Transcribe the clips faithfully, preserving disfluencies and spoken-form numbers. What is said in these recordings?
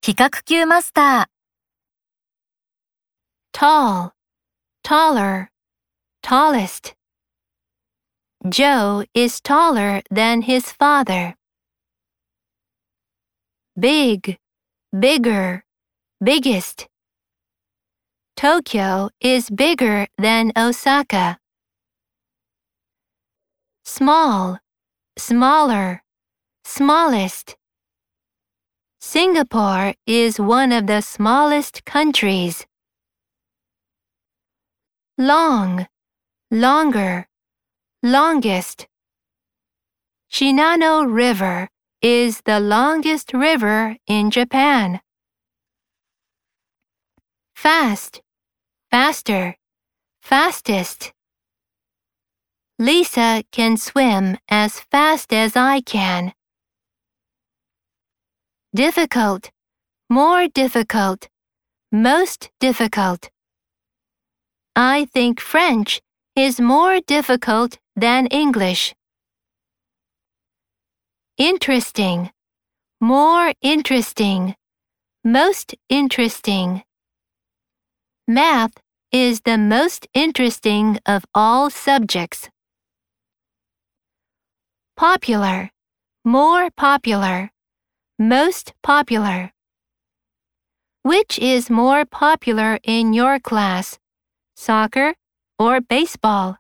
比較級マスター。 tall, taller, tallest. Joe is taller than his father. Big, bigger, biggest. Tokyo is bigger than Osaka. Small, smaller, smallest. Singapore is one of the smallest countries. Long, longer, longest. Shinano River is the longest river in Japan. Fast, faster, fastest. Lisa can swim as fast as I can. Difficult, more difficult, most difficult. I think French is more difficult than English. Interesting, more interesting, most interesting. Math is the most interesting of all subjects. Popular, more popular, most popular. Which is more popular in your class, soccer or baseball?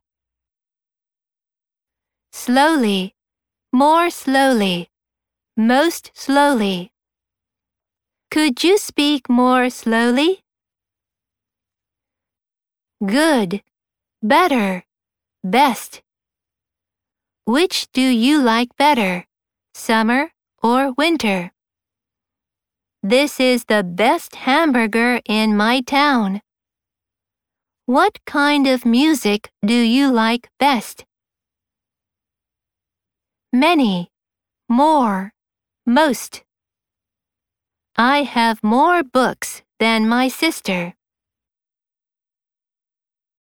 Slowly, more slowly, most slowly. Could you speak more slowly? Good, better, best. Which do you like better, summer or winter? This is the best hamburger in my town. What kind of music do you like best? Many, more, most. I have more books than my sister.